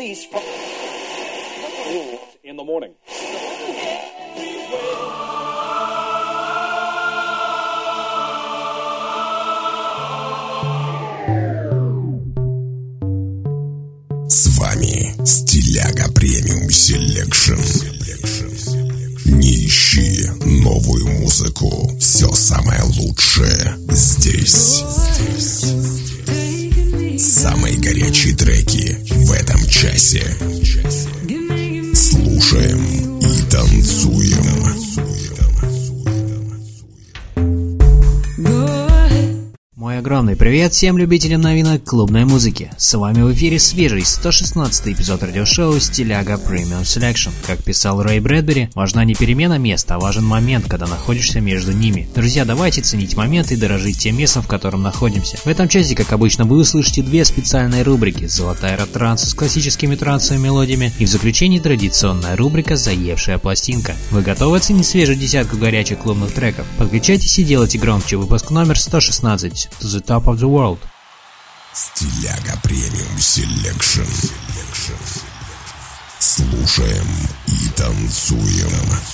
release from in the morning. С вами Стиляга Премиум Селекшн. Не ищи новую музыку. Все самое лучшее здесь. Самые горячие треки в этом часе. Слушаем и танцуем. Мой огромный привет всем любителям новинок клубной музыки. С вами в эфире свежий 116-й эпизод радиошоу Стиляга Premium Selection. Как писал Рэй Брэдбери, важна не перемена места, а важен момент, когда находишься между ними. Друзья, давайте ценить момент и дорожить тем местом, в котором находимся. В этом часе, как обычно, вы услышите две специальные рубрики: золотая эра транса с классическими трансовыми мелодиями и в заключении традиционная рубрика «Заевшая пластинка». Вы готовы оценить свежую десятку горячих клубных треков? Подключайтесь и делайте громче. Выпуск номер 116. To the top of the world. Стиляга Премиум Селекшн. Слушаем и танцуем.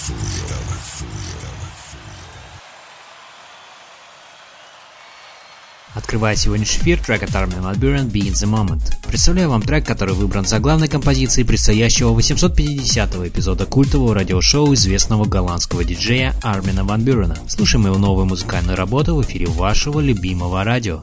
Открывая сегодняшний эфир, трек от Armin van Buuren «Be in the Moment». Представляю вам трек, который выбран за главной композицией предстоящего 850-го эпизода культового радиошоу известного голландского диджея Армина ван Бюрена. Слушаем его новую музыкальную работу в эфире вашего любимого радио.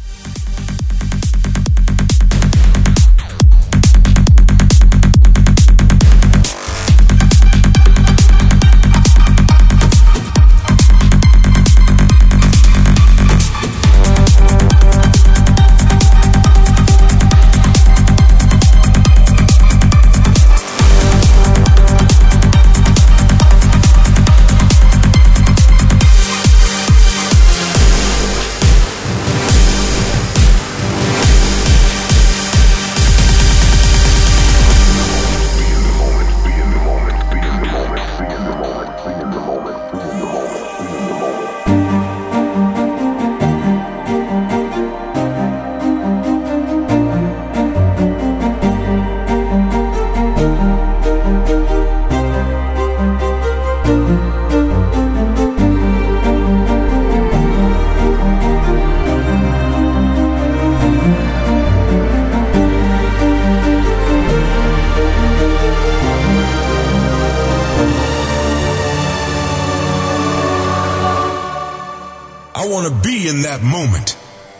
I wanna be in that moment.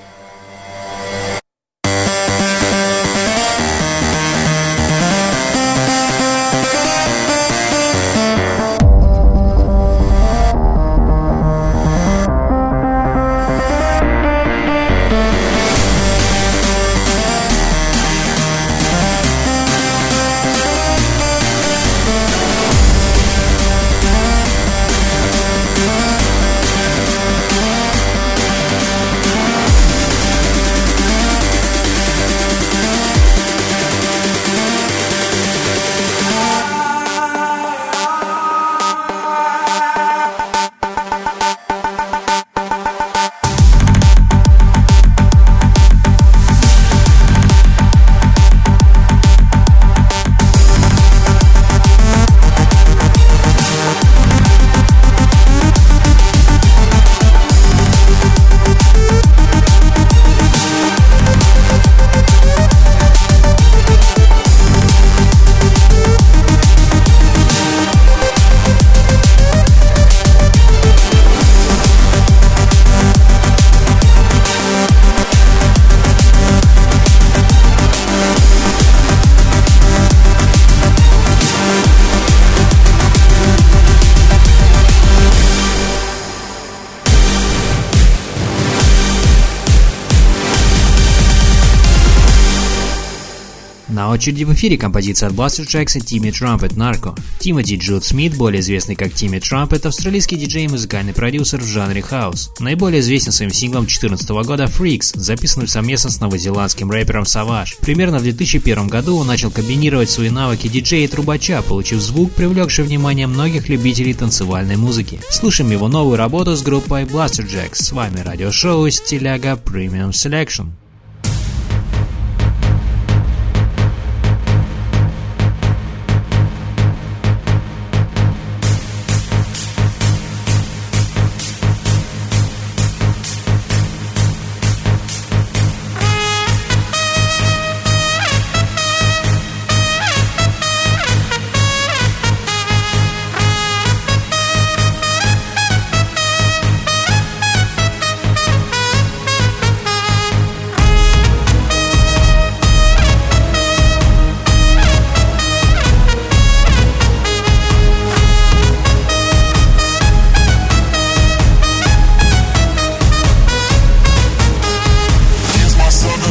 На очереди в эфире композиция от Blaster Tracks и Timmy Trumpet Narco. Тимоти Джуд Смит, более известный как Timmy Trumpet, австралийский диджей и музыкальный продюсер в жанре хаус. Наиболее известен своим синглом 2014 года Freaks, записанным совместно с новозеландским рэпером Savage. Примерно в 2001 году он начал комбинировать свои навыки диджея и трубача, получив звук, привлекший внимание многих любителей танцевальной музыки. Слушаем его новую работу с группой Blaster Jacks. С вами радиошоу Стиляга Premium Selection.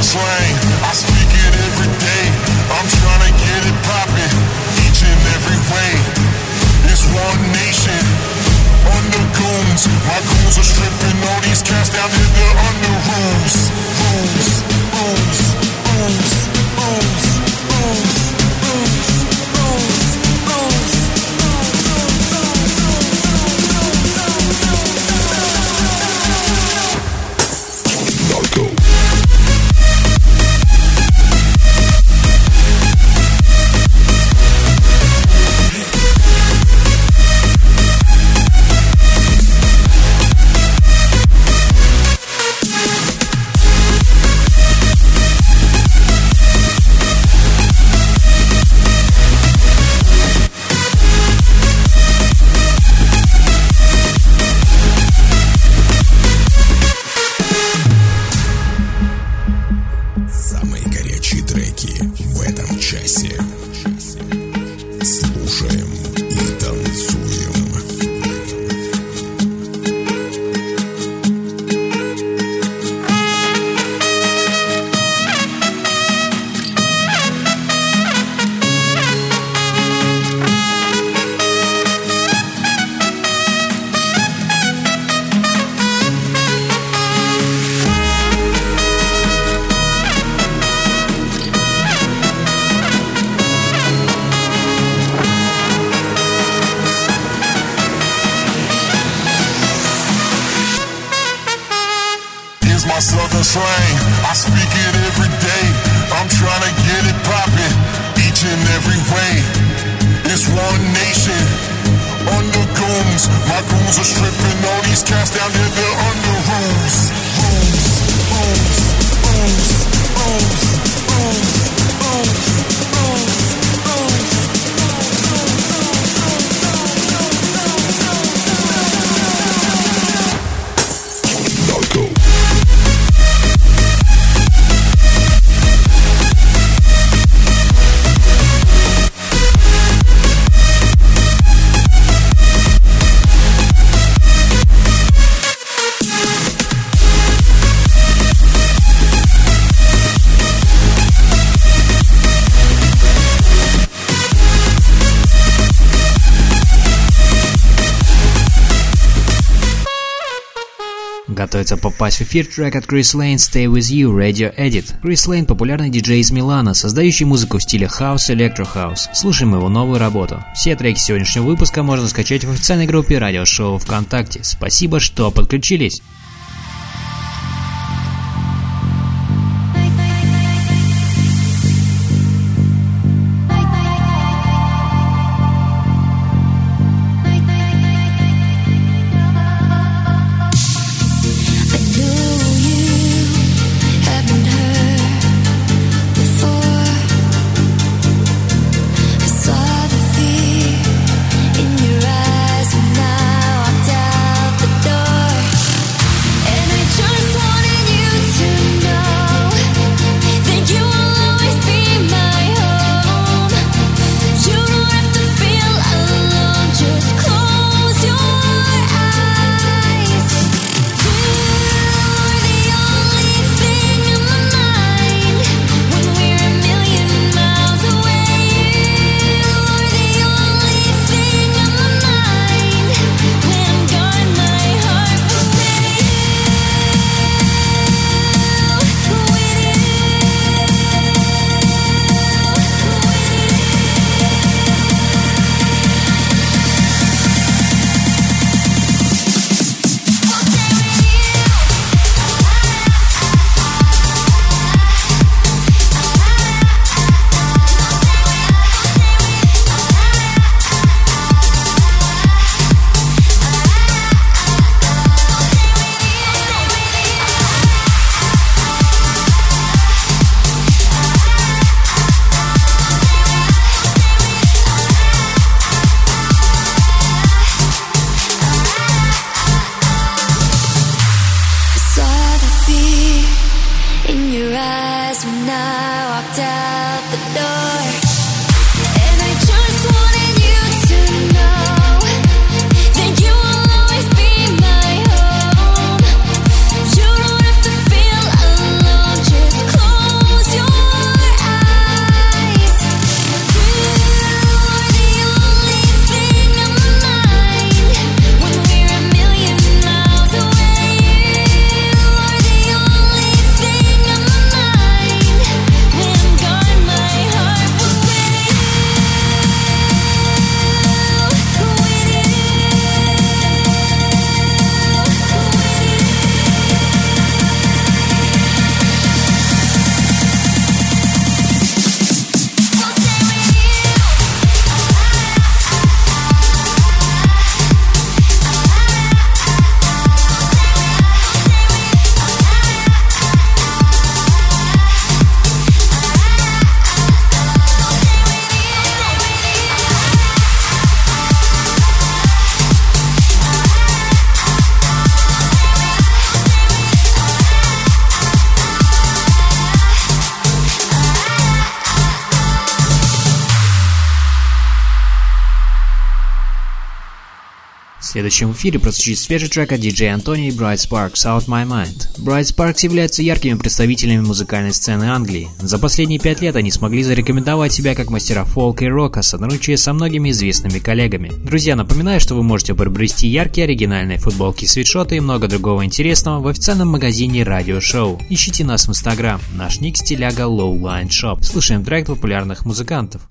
slang, I speak it every day. I'm trying to get it poppin', each and every way. It's one nation, under goons. My goons are stripping all these cats down in the under rooms. Rooms, rooms, rooms, rooms, rooms, rooms, rooms, rooms. Narco. Самые горячие треки в этом часе. Слушаем и танцуем. Here's my southern slang, I speak it every day. I'm trying to get it poppin', each and every way. It's one nation, under goons. My goons are stripping all these cats down in the under rooms. Rooms, rooms, rooms, rooms, rooms, rooms, rooms, rooms. Narco. Готовится попасть в эфир трек от Chris Lane «Stay With You» Radio Edit. Chris Lane – популярный диджей из Милана, создающий музыку в стиле House Electro House. Слушаем его новую работу. Все треки сегодняшнего выпуска можно скачать в официальной группе радиошоу ВКонтакте. Спасибо, что подключились. Close В следующем эфире прозвучит свежий трек от DJ Anthony и Bright Sparks Out My Mind. Bright Sparks являются яркими представителями музыкальной сцены Англии. За последние 5 лет они смогли зарекомендовать себя как мастера фолка и рока, сотрудничая со многими известными коллегами. Друзья, напоминаю, что вы можете приобрести яркие оригинальные футболки, свитшоты и много другого интересного в официальном магазине Radio Show. Ищите нас в Instagram. Наш ник стиляга Lowline Shop. Слушаем трек популярных музыкантов.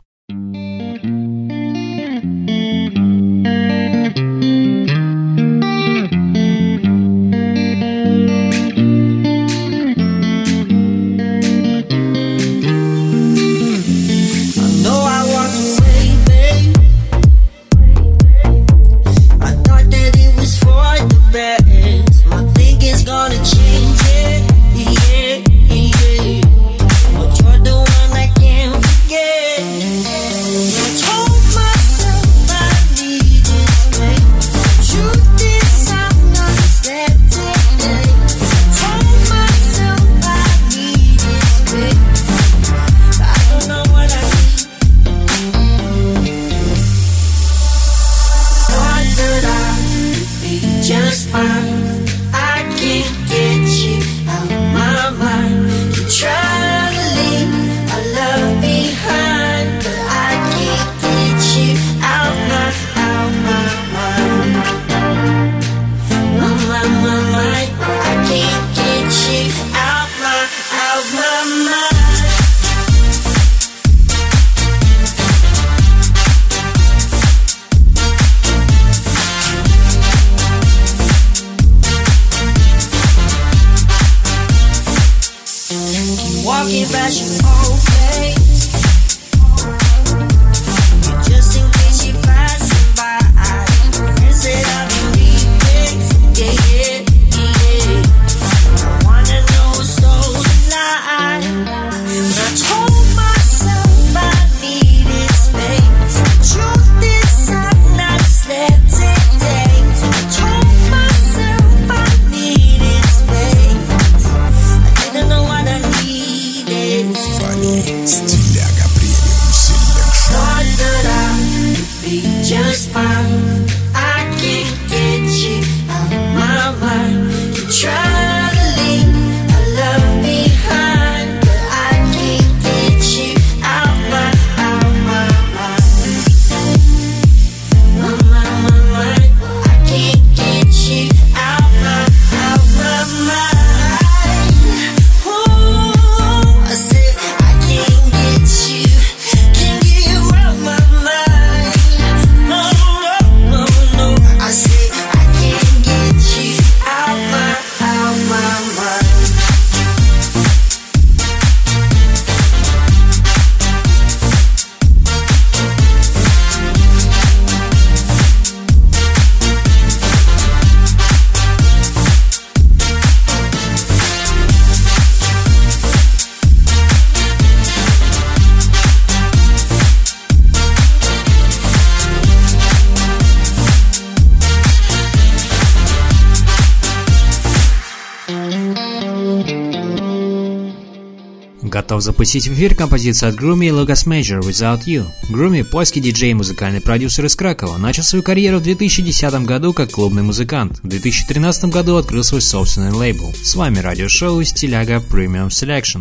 Готов запустить в эфир композицию от Groomy и Lucas Major Without You. Groomy, польский диджей и музыкальный продюсер из Кракова, начал свою карьеру в 2010 году как клубный музыкант. В 2013 году открыл свой собственный лейбл. С вами радиошоу Стиляга Premium Selection.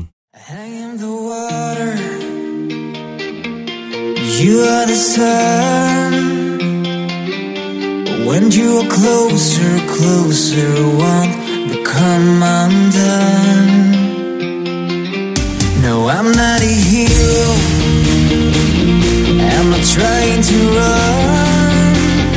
You are the sun. When you are closer, closer, won't become undone. No, I'm not a hero. I'm not trying to run.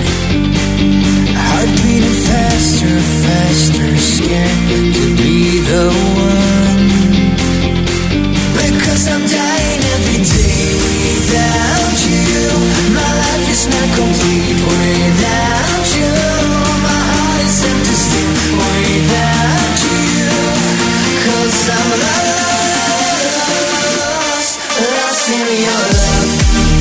Heart beating faster, faster, scared to be the one. Because I'm dying every day without you. My life is not complete without you. My heart is empty still without you. 'Cause I'm lost in your love.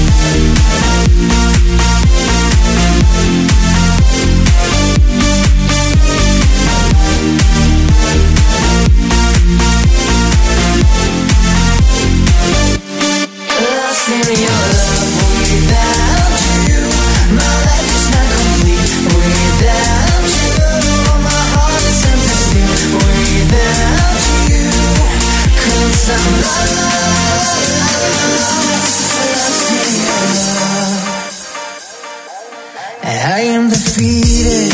Lost in your love without you. My life is not complete without you. I am defeated,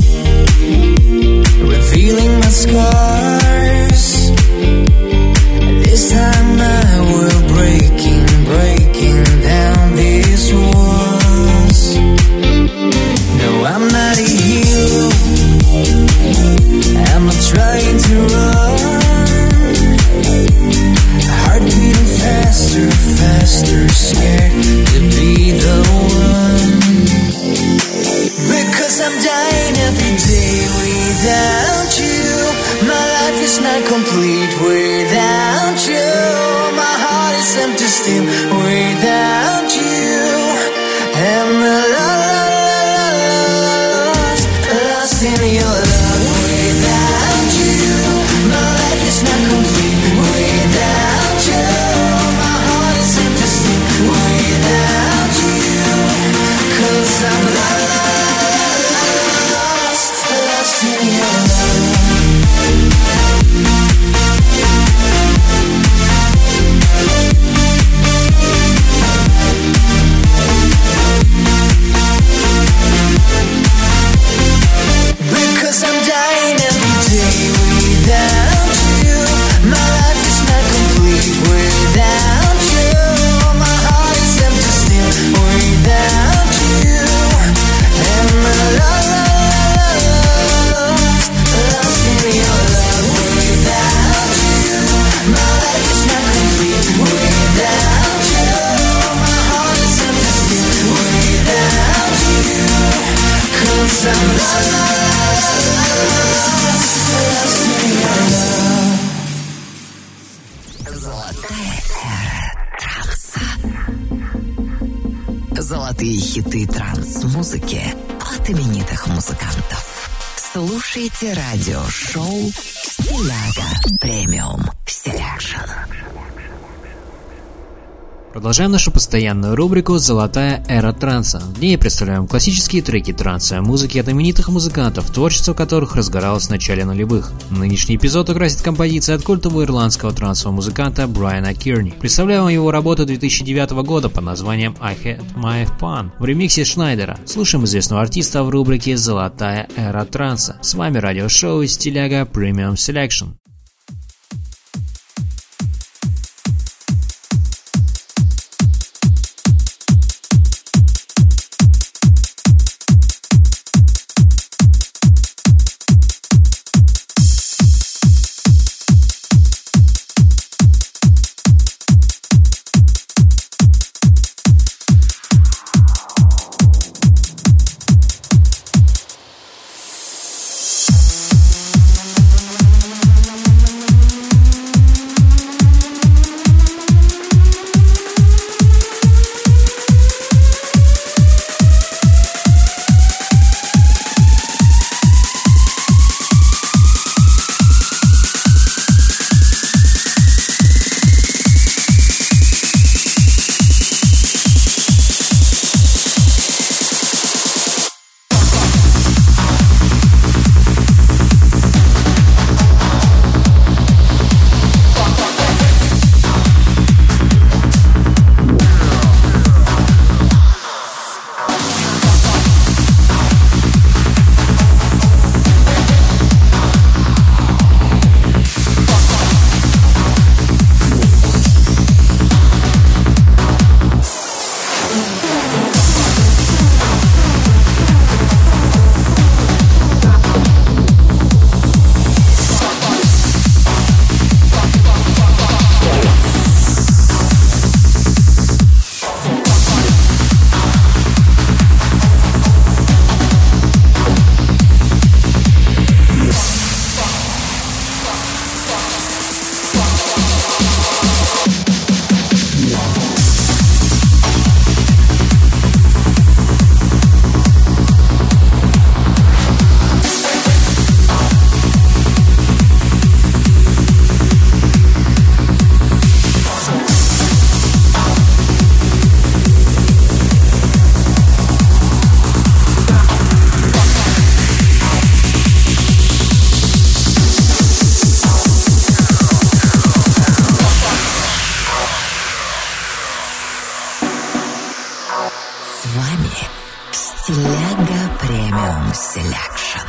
revealing my scars. This time I will breaking down these walls. No, I'm not a hero, I'm not trying to run. Heart beating faster, scared to be the one. Because I'm dying every day without you. My life is not complete without you. My heart is empty still without you. And the lost in your love without you. My life is not complete without you. My heart is empty still without you. 'Cause I'm lost in your love. Because I'm dying every day without you. My life is not complete without you. My heart is empty still without you. And the lost in your love without you. My life is not complete without you. My heart is empty still without you. 'Cause I'm lost in your love. Золотая эра транса. Золотые хиты транс-музыки от именитых музыкантов. Слушайте радиошоу «Стиляга Премиум Селекшн». Продолжаем нашу постоянную рубрику «Золотая эра транса». В ней представляем классические треки транса, музыки от именитых музыкантов, творчество которых разгоралось в начале нулевых. Нынешний эпизод украсит композиция от культового ирландского трансового музыканта Брайана Кирни. Представляем вам его работу 2009 года под названием «I Had My Fun» в ремиксе Шнайдера. Слушаем известного артиста в рубрике «Золотая эра транса». С вами радиошоу «Стиляга Премиум Селекшн». Premium Selection.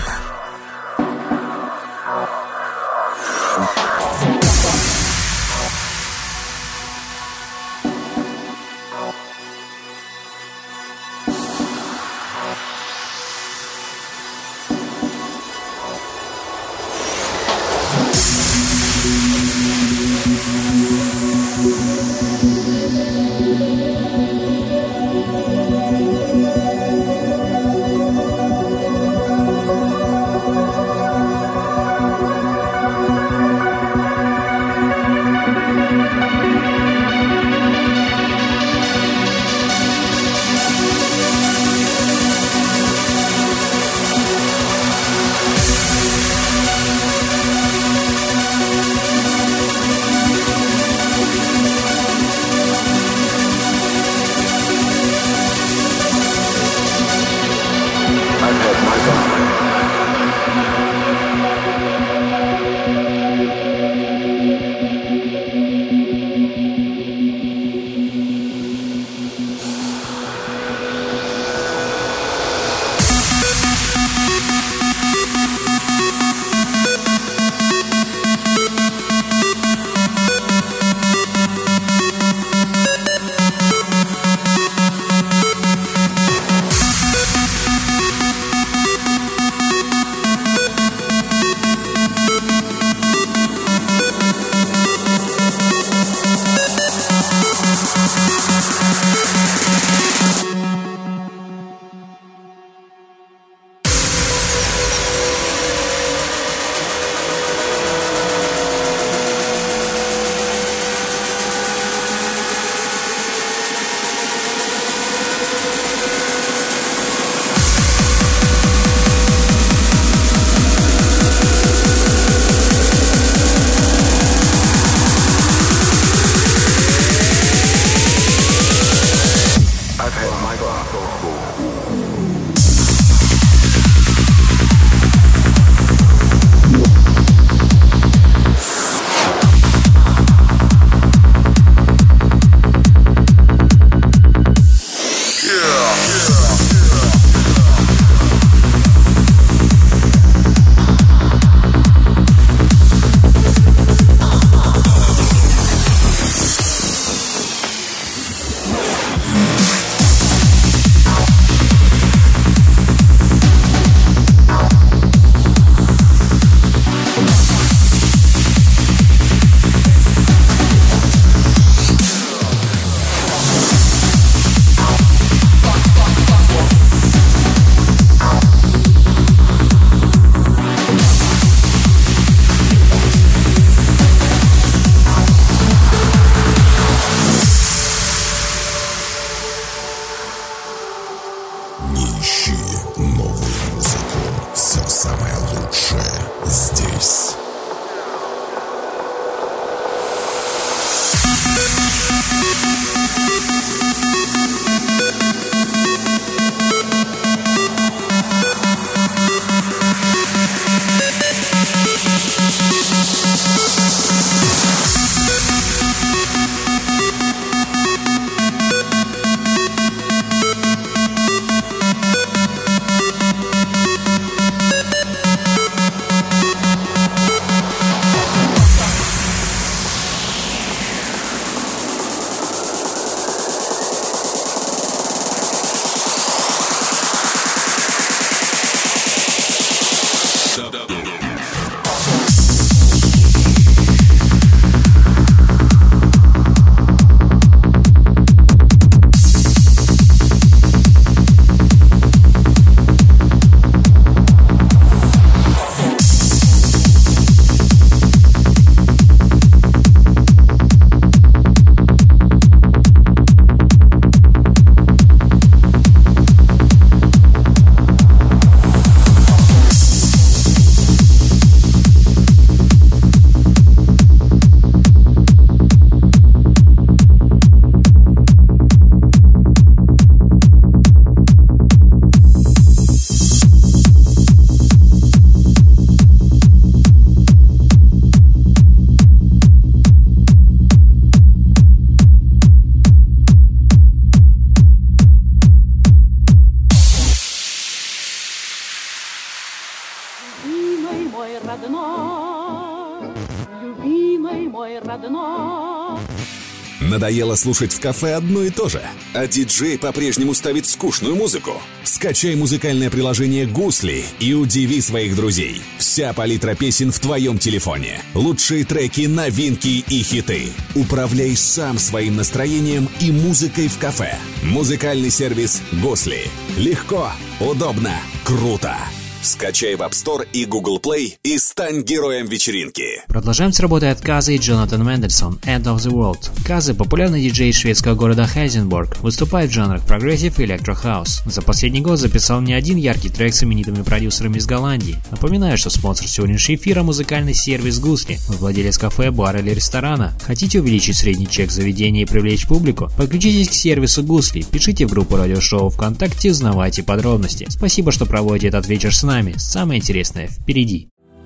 любимый мой родной. Надоело слушать в кафе одно и то же, а диджей по-прежнему ставит скучную музыку? Скачай музыкальное приложение «Гусли» и удиви своих друзей. Вся палитра песен в твоем телефоне. Лучшие треки, новинки и хиты. Управляй сам своим настроением и музыкой в кафе. Музыкальный сервис «Гусли». Легко, удобно, круто. Скачай в App Store и Google Play и стань героем вечеринки. Продолжаем с работой от Казы и Джонатан Мендельсон «End of the World». Казы, популярный диджей из шведского города Хайзенбург, выступает в жанрах прогрессив и электрохаус. За последний год записал не один яркий трек с именитыми продюсерами из Голландии. Напоминаю, что спонсор сегодняшнего эфира – музыкальный сервис «Гусли». Вы владелец кафе, бара или ресторана. Хотите увеличить средний чек заведения и привлечь публику? Подключитесь к сервису «Гусли», пишите в группу радиошоу ВКонтакте, узнавайте подробности. Спасибо, что проводите этот вечер с нами. Самое интересное впереди.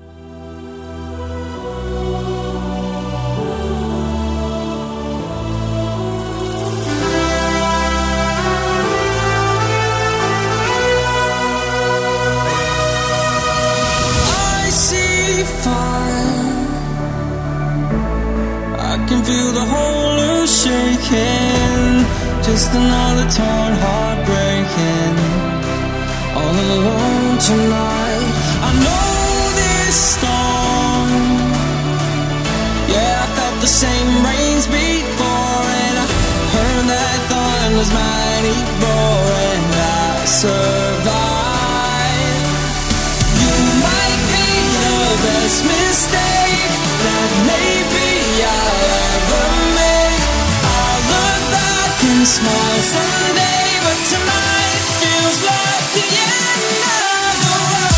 Feel the whole earth shaking, just another torn heart breaking, all alone tonight. I know this storm, yeah, I felt the same rains before, and I heard that thunder's mighty roar, and I survived. You might be the best mistake that maybe I'll ever make. I'll look back and smile someday, but tonight feels like the end of the world.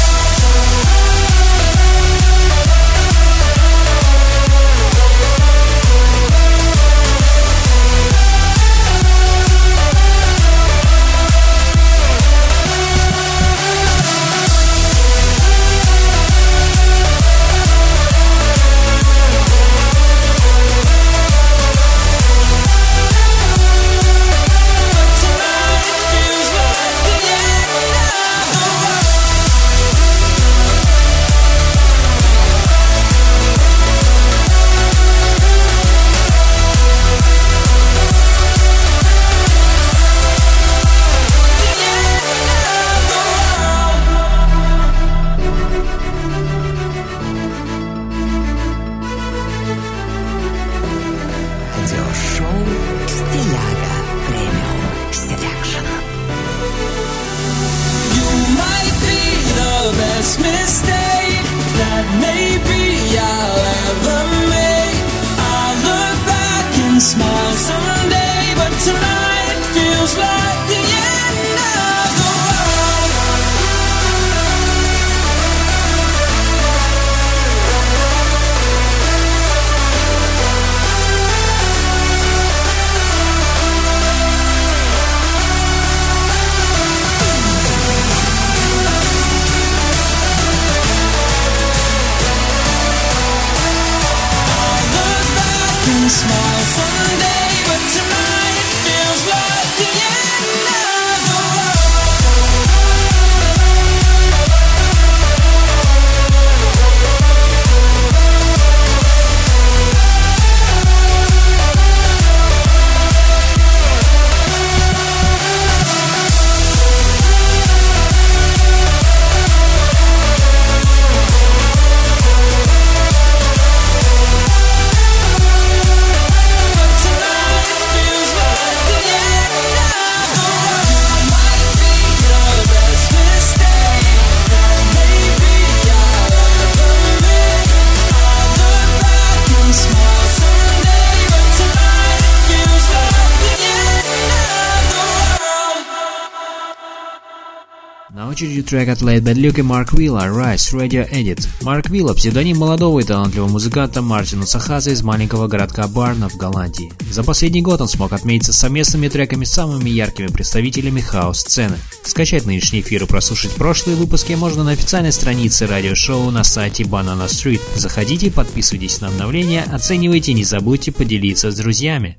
На очереди трек от Laid Bad Luke и Марк Вилла «Rise Radio Edit». Марк Вилла – псевдоним молодого и талантливого музыканта Мартина Сахаза из маленького городка Барна в Голландии. За последний год он смог отметиться совместными треками с самыми яркими представителями хаус-сцены. Скачать нынешний эфир и прослушать прошлые выпуски можно на официальной странице радиошоу на сайте Banana Street. Заходите, подписывайтесь на обновления, оценивайте и не забудьте поделиться с друзьями.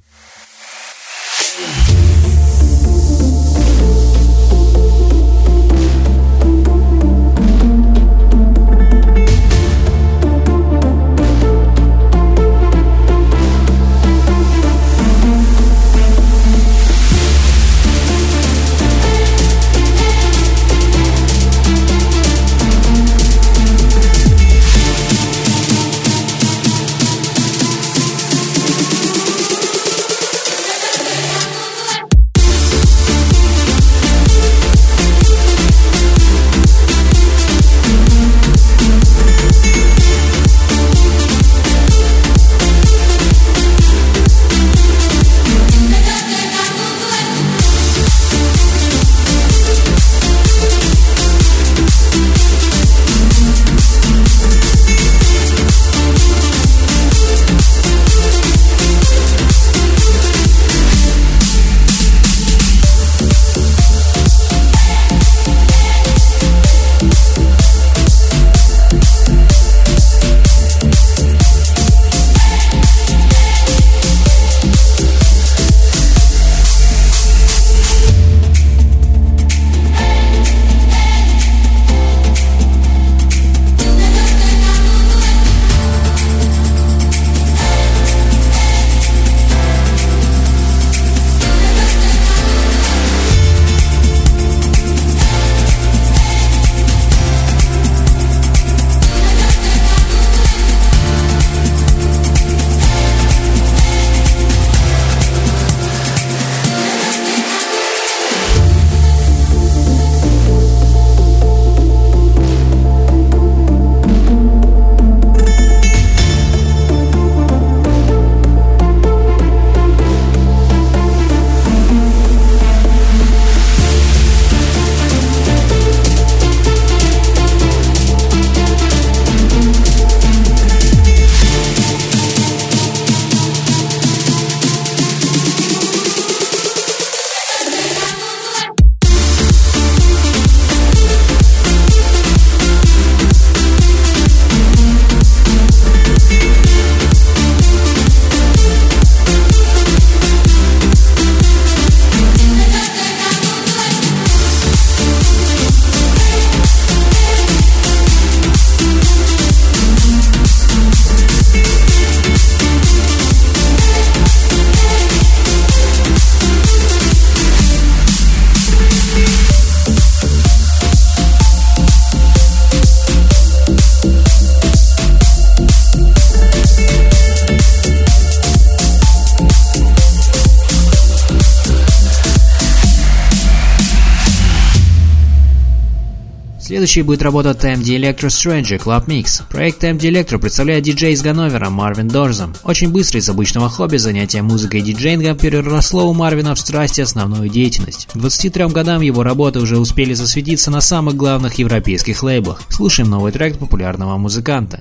Следующей будет работа TMD Electro Stranger Club Mix. Проект TMD Electro представляет диджей из Ганновера Марвин Дорзом. Очень быстро из обычного хобби занятие музыкой и диджеингом переросло у Марвина в страсть и основную деятельность. К 23 годам его работы уже успели засветиться на самых главных европейских лейблах. Слушаем новый трек популярного музыканта.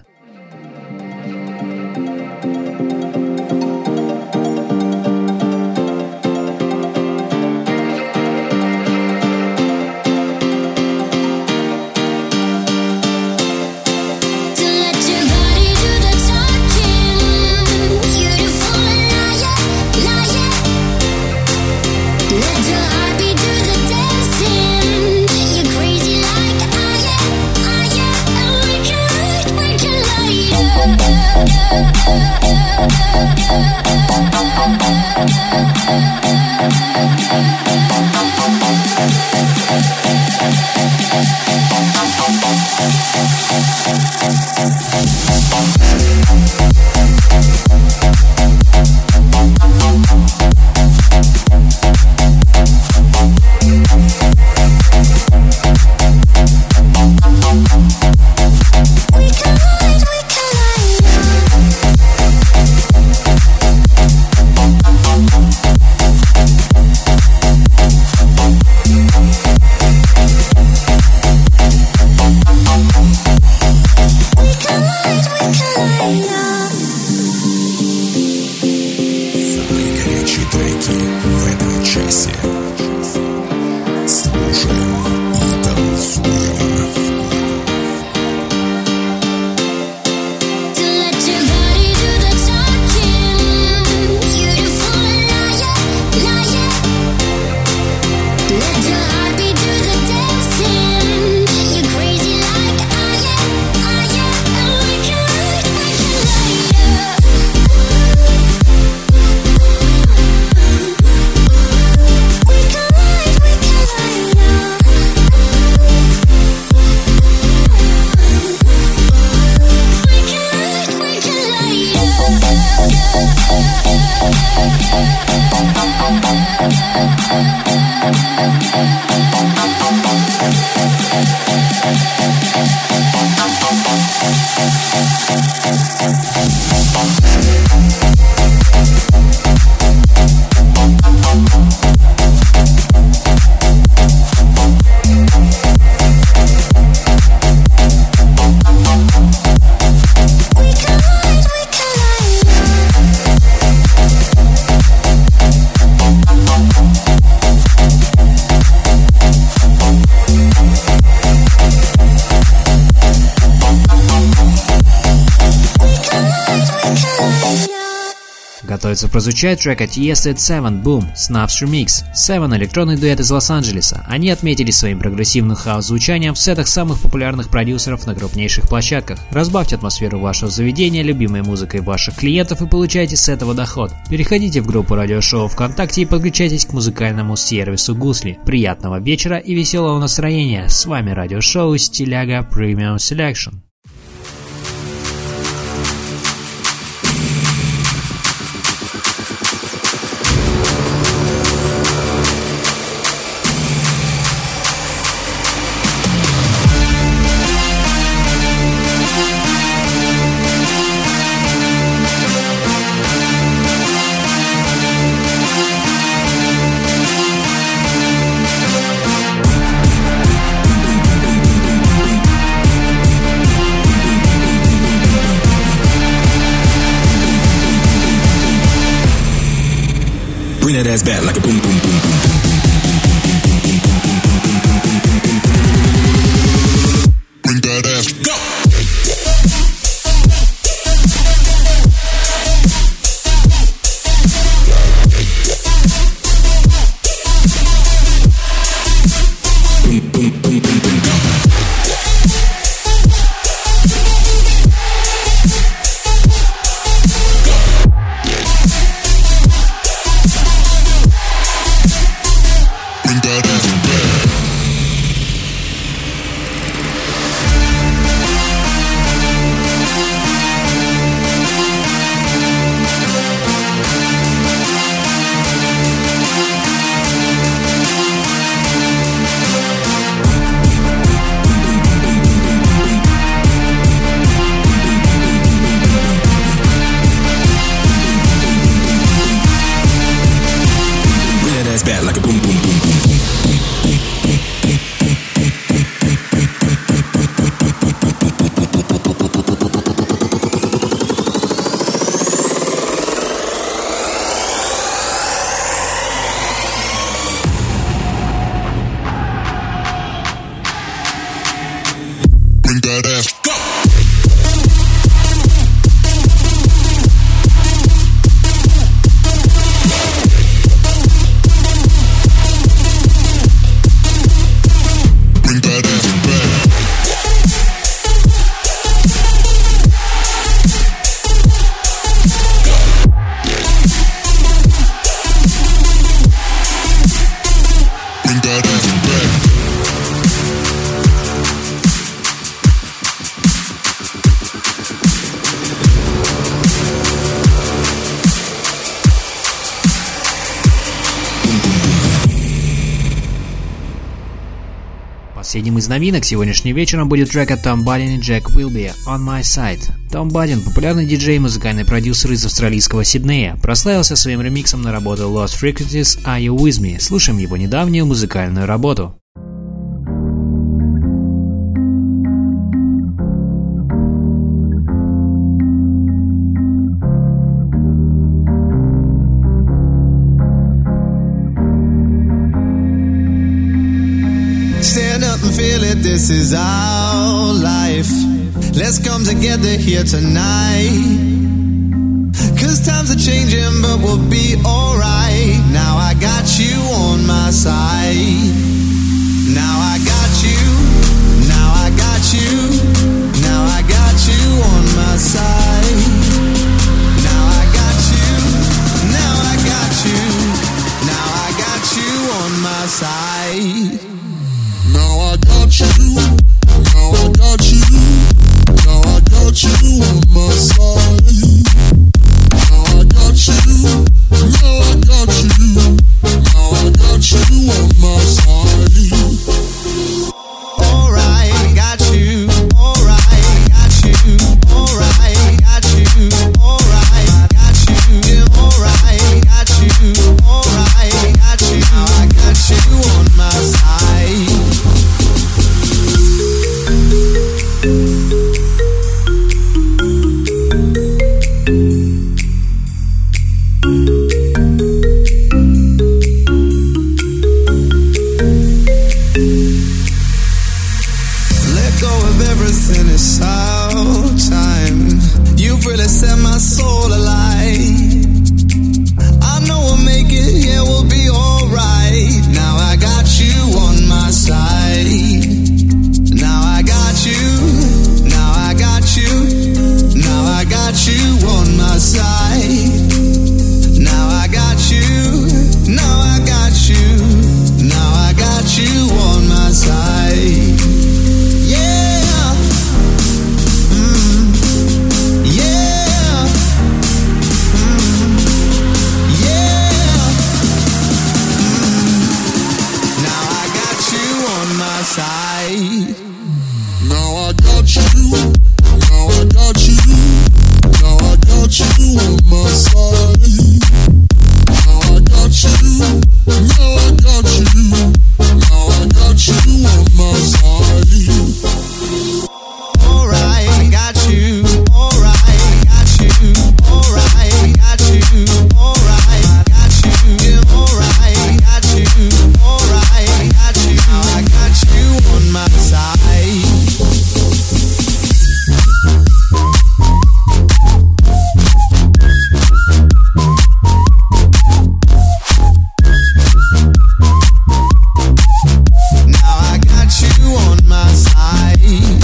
Готовится прозвучать трек от Yes It Seven Boom Snaps Remix. Seven — электронный дуэт из Лос-Анджелеса. Они отметились своим прогрессивным хаус-звучанием в сетах самых популярных продюсеров на крупнейших площадках. Разбавьте атмосферу вашего заведения любимой музыкой ваших клиентов и получайте с этого доход. Переходите в группу радиошоу ВКонтакте и подключайтесь к музыкальному сервису Гусли. Приятного вечера и веселого настроения. С вами радиошоу Стиляга Premium Selection. Bring that ass back like a boom, boom, boom, boom, boom. Bring that ass, go! Boom, boom, boom, boom, boom, go! bad like a boom boom boom boom boom boom boom boom boom. Bring that ass, go! Bring that ass back. Bring that ass back. Последним из новинок сегодняшним вечером будет трек от Tom Budden и Jack Wilby «On My Side». Том Бадден, популярный диджей и музыкальный продюсер из австралийского Сиднея, прославился своим ремиксом на работу Lost Frequencies «Are You With Me?». Слушаем его недавнюю музыкальную работу. Stand up and feel it, this is our life. Let's come together here tonight. 'Cause times are changing, but we'll be alright. Now I got you on my side. Now I got you. Now I got you. Now I got you on my side. Now I got you. Now I got you. Now I got you on my side. Now I got you. Now I got you. Now I got you on my side. Now I got you. Now I got you. Now I got you on my side. Alright, got you. Alright, got you. Alright, got you. Alright, got you. Alright, got you. Alright, got you. Now I got you on my side. Let go of everything, it's our time. You've really set my soul alight. I know we'll make it, yeah, we'll be alright. Now I got you on my side. Now I got you. Now I got you. Now I got you on my side. Now I got you. Now I got you. Now I got you on my side. Yeah. Yeah. Yeah. Now I got you on my side. Now I got you. Now I got you. Now I got you on my side. Now I got you. Now I got you. Now I got you on my side. Alright, got you. Alright, got you. Alright, got you. Alright, got you. Alright, got you. Alright, got you. Now I got you on my side. Now I got you on my side.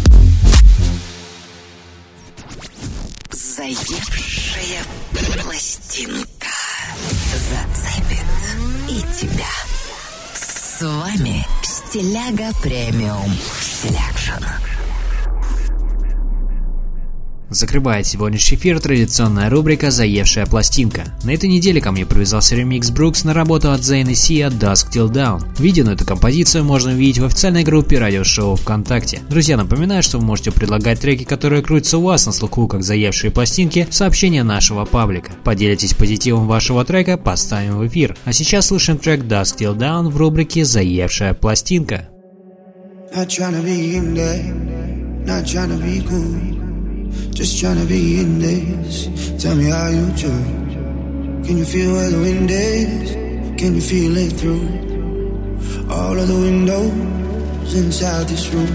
Заевшая пластинка зацепит и тебя. С вами Стиляга Премиум Селекшн. Закрывает сегодняшний эфир традиционная рубрика «Заевшая пластинка». На этой неделе ко мне привязался ремикс Brooks на работу от Zayn и Sia «Dusk Till Dawn». Видео на эту композицию можно увидеть в официальной группе радиошоу ВКонтакте. Друзья, напоминаю, что вы можете предлагать треки, которые крутятся у вас на слуху, как заевшие пластинки, в сообщения нашего паблика. Поделитесь позитивом вашего трека, поставим в эфир. А сейчас слушаем трек «Dusk Till Dawn» в рубрике «Заевшая пластинка». Not tryna be in there, not tryna be cool, just tryna be in this. Tell me how you do. Can you feel where the wind is? Can you feel it through all of the windows inside this room?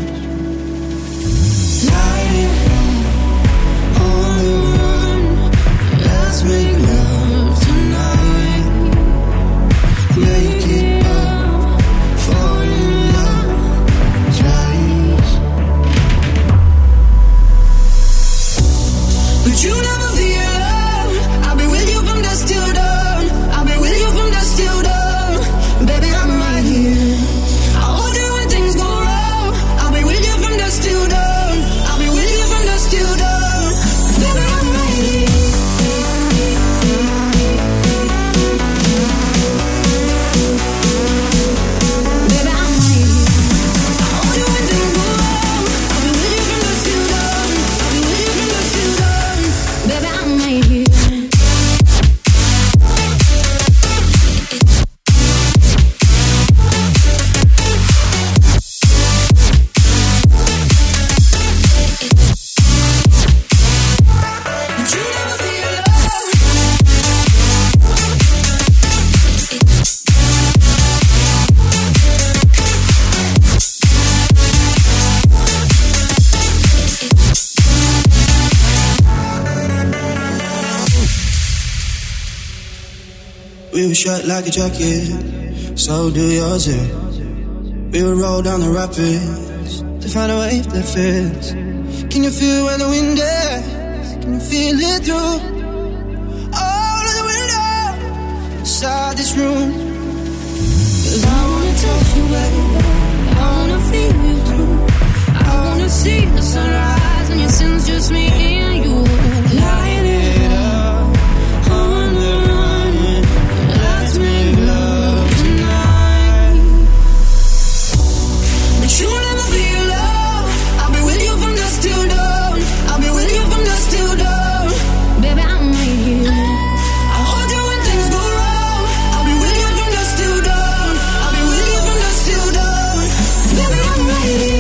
Light on the run, let's make love tonight. Make it up, fall in love twice. But you never be alone. I'll be with you from dusk till dawn. I'll be with you from dusk till dawn. Baby, I'm right here. I'll hold you when things go wrong. I'll be with you from dusk till dawn. I'll be with you from dusk till dawn. Baby, I'm right here. Baby, I'm right here. I'll hold you when things go wrong. I'll be with you from dusk till dawn. I'll be with you from dusk till dawn. Baby, I'm right here. But you never be alone. We were shut like a jacket, so do yours too. We would roll down the rapids to find a wave that fits. Can you feel where the wind is? Can you feel it through all of the windows inside this room? 'Cause I wanna touch you, baby. I wanna feel you too. I wanna see the sunrise and your sins, just me and you. Light it up on the run. Let's make love tonight. But you'll never be alone. I'll be with you from dusk till dawn. I'll be with you from dusk till dawn. Baby, I'm right here. I'll hold you when things go wrong. I'll be with you from dusk till dawn. I'll be with you from dusk till dawn. Baby, I'm right here.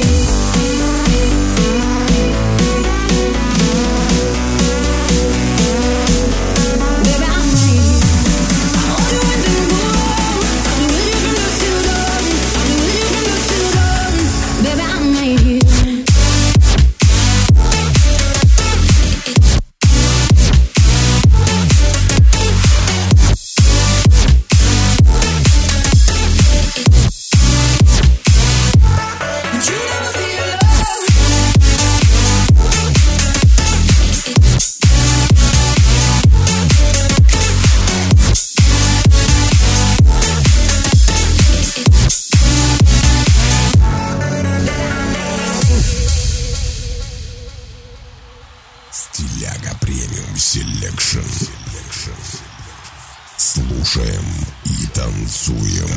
Baby, I'm right here. I'll hold you when things go wrong. I'll be with you from dusk till dawn. I'll be with you from dusk till dawn. Baby, I'm right here. But you never be alone. Стиляга премиум селекшн. Слушаем и танцуем.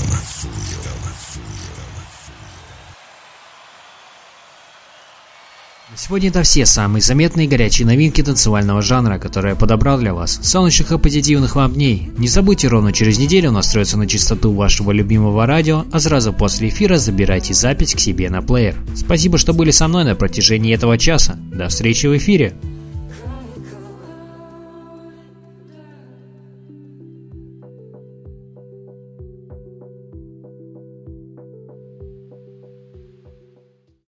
На сегодня это все самые заметные и горячие новинки танцевального жанра, которые я подобрал для вас. Солнечных и позитивных вам дней. Не забудьте, ровно через неделю настроиться на частоту вашего любимого радио, а сразу после эфира забирайте запись к себе на плеер. Спасибо, что были со мной на протяжении этого часа. До встречи в эфире.